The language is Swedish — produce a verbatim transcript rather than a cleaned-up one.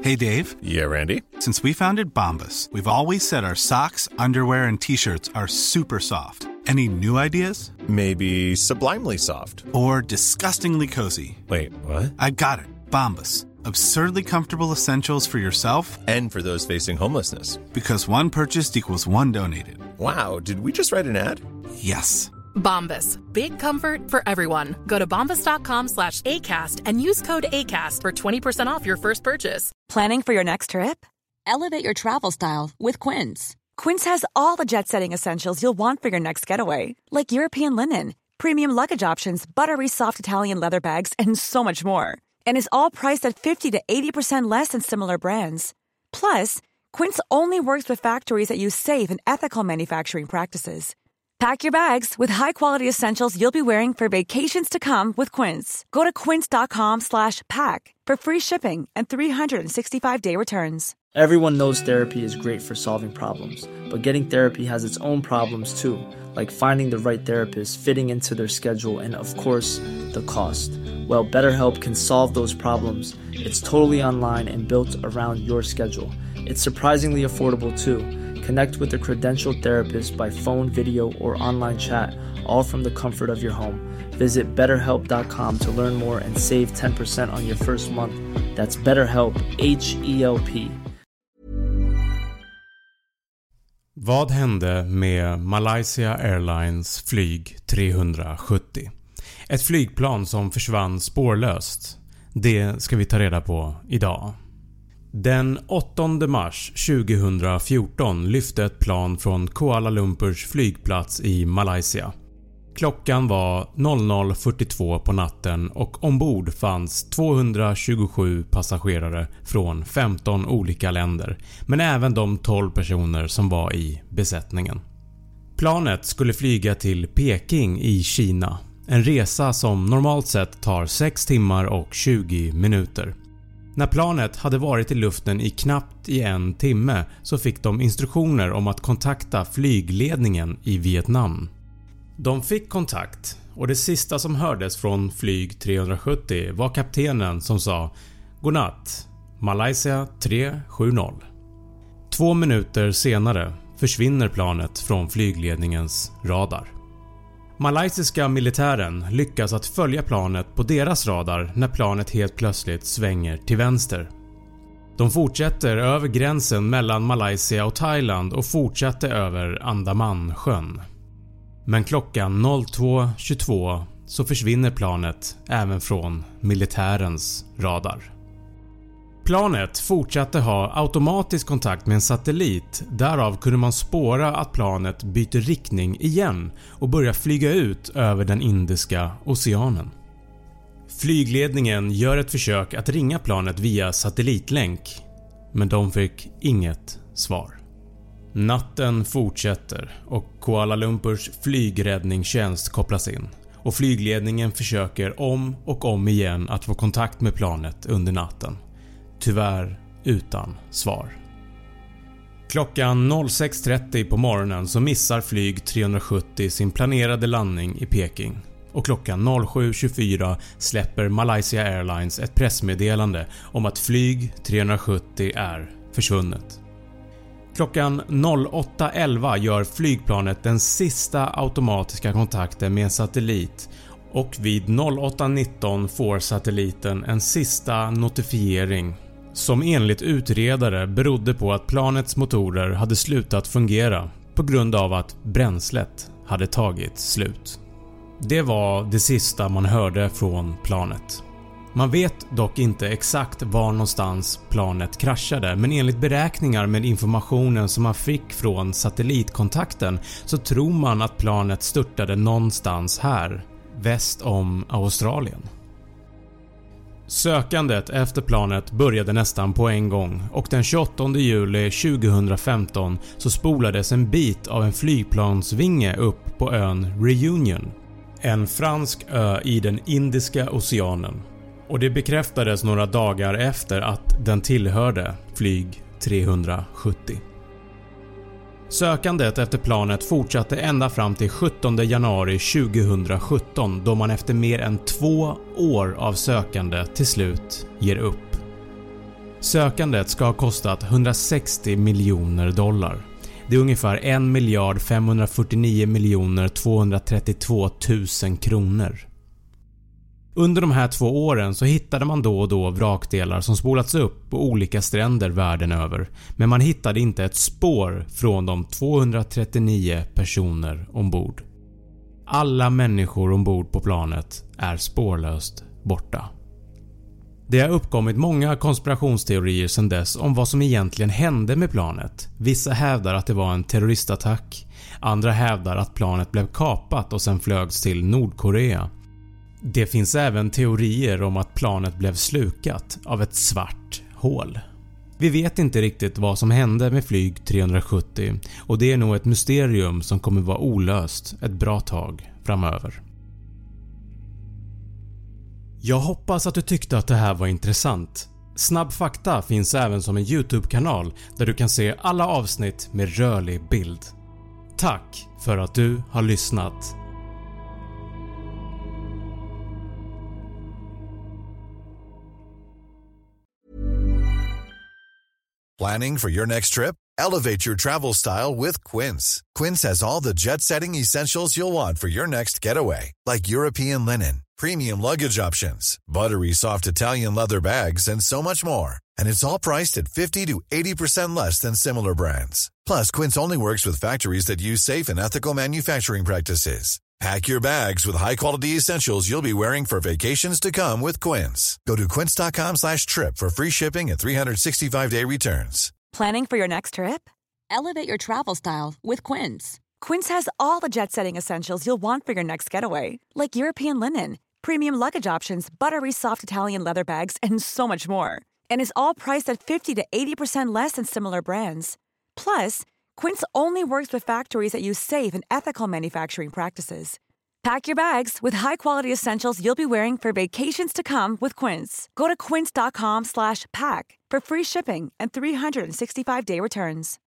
Hey, Dave. Yeah, Randy. Since we founded Bombas, we've always said our socks, underwear, and T-shirts are super soft. Any new ideas? Maybe sublimely soft. Or disgustingly cozy. Wait, what? I got it. Bombas. Absurdly comfortable essentials for yourself and for those facing homelessness. Because one purchased equals one donated. Wow, did we just write an ad? Yes. Bombas. Big comfort for everyone. Go to bombas.com slash ACAST and use code ACAST for twenty percent off your first purchase. Planning for your next trip? Elevate your travel style with Quince. Quince has all the jet-setting essentials you'll want for your next getaway, like European linen, premium luggage options, buttery soft Italian leather bags, and so much more. And is all priced at fifty to eighty percent less than similar brands. Plus, Quince only works with factories that use safe and ethical manufacturing practices. Pack your bags with high-quality essentials you'll be wearing for vacations to come with Quince. Go to quince.com slash pack for free shipping and three sixty-five day returns. Everyone knows therapy is great for solving problems, but getting therapy has its own problems too, like finding the right therapist, fitting into their schedule, and of course, the cost. Well, BetterHelp can solve those problems. It's totally online and built around your schedule. It's surprisingly affordable too. Connect with a credentialed therapist by phone, video, or online chat, all from the comfort of your home. Visit better help dot com to learn more and save ten percent on your first month. That's BetterHelp, H E L P. Vad hände med Malaysia Airlines flyg trehundrasjuttio? Ett flygplan som försvann spårlöst. Det ska vi ta reda på idag. Den åttonde mars tjugohundrafjorton lyfte ett plan från Kuala Lumpurs flygplats i Malaysia. Klockan var noll noll fyrtiotvå på natten och ombord fanns tvåhundratjugosju passagerare från femton olika länder, men även de tolv personer som var i besättningen. Planet skulle flyga till Peking i Kina, en resa som normalt sett tar sex timmar och tjugo minuter. När planet hade varit i luften i knappt i en timme så fick de instruktioner om att kontakta flygledningen i Vietnam. De fick kontakt och det sista som hördes från flyg trehundrasjuttio var kaptenen som sa "Godnatt, Malaysia tre sju noll". Två minuter senare försvinner planet från flygledningens radar. Malaysiska militären lyckas att följa planet på deras radar när planet helt plötsligt svänger till vänster. De fortsätter över gränsen mellan Malaysia och Thailand och fortsätter över Andamansjön. Men klockan noll två tjugotvå så försvinner planet även från militärens radar. Planet fortsatte ha automatisk kontakt med en satellit, därav kunde man spåra att planet byter riktning igen och börjar flyga ut över den Indiska oceanen. Flygledningen gör ett försök att ringa planet via satellitlänk, men de fick inget svar. Natten fortsätter och Kuala Lumpurs flygräddningstjänst kopplas in och flygledningen försöker om och om igen att få kontakt med planet under natten. Tyvärr utan svar. Klockan noll sex trettio på morgonen så missar flyg trehundrasjuttio sin planerade landning i Peking och klockan noll sju tjugofyra släpper Malaysia Airlines ett pressmeddelande om att flyg trehundrasjuttio är försvunnet. Klockan noll åtta elva gör flygplanet den sista automatiska kontakten med en satellit och vid noll åtta nitton får satelliten en sista notifiering som enligt utredare berodde på att planets motorer hade slutat fungera på grund av att bränslet hade tagit slut. Det var det sista man hörde från planet. Man vet dock inte exakt var någonstans planet kraschade, men enligt beräkningar med informationen som man fick från satellitkontakten så tror man att planet störtade någonstans här, väst om Australien. Sökandet efter planet började nästan på en gång och den tjugoåttonde juli tjugohundrafemton så spolades en bit av en flygplansvinge upp på ön Reunion, en fransk ö i den Indiska oceanen. Och det bekräftades några dagar efter att den tillhörde flyg trehundrasjuttio. Sökandet efter planet fortsatte ända fram till sjuttonde januari tjugohundrasjutton då man efter mer än två år av sökande till slut ger upp. Sökandet ska ha kostat hundrasextio miljoner dollar. Det är ungefär en miljard femhundrafyrtionio miljoner tvåhundratrettiotvå tusen kronor. Under de här två åren så hittade man då och då vrakdelar som spolats upp på olika stränder världen över, men man hittade inte ett spår från de tvåhundratrettionio personer ombord. Alla människor ombord på planet är spårlöst borta. Det har uppkommit många konspirationsteorier sedan dess om vad som egentligen hände med planet. Vissa hävdar att det var en terroristattack, andra hävdar att planet blev kapat och sen flögs till Nordkorea. Det finns även teorier om att planet blev slukat av ett svart hål. Vi vet inte riktigt vad som hände med flyg trehundrasjuttio och det är nog ett mysterium som kommer vara olöst ett bra tag framöver. Jag hoppas att du tyckte att det här var intressant. Snabb fakta finns även som en YouTube-kanal där du kan se alla avsnitt med rörlig bild. Tack för att du har lyssnat. Planning for your next trip? Elevate your travel style with Quince. Quince has all the jet-setting essentials you'll want for your next getaway, like European linen, premium luggage options, buttery soft Italian leather bags, and so much more. And it's all priced at fifty to eighty percent less than similar brands. Plus, Quince only works with factories that use safe and ethical manufacturing practices. Pack your bags with high-quality essentials you'll be wearing for vacations to come with Quince. Go to quince.com slash trip for free shipping and three sixty-five day returns. Planning for your next trip? Elevate your travel style with Quince. Quince has all the jet-setting essentials you'll want for your next getaway, like European linen, premium luggage options, buttery soft Italian leather bags, and so much more. And is all priced at fifty to eighty percent less than similar brands. Plus, Quince only works with factories that use safe and ethical manufacturing practices. Pack your bags with high-quality essentials you'll be wearing for vacations to come with Quince. Go to quince.com slash pack for free shipping and three sixty-five day returns.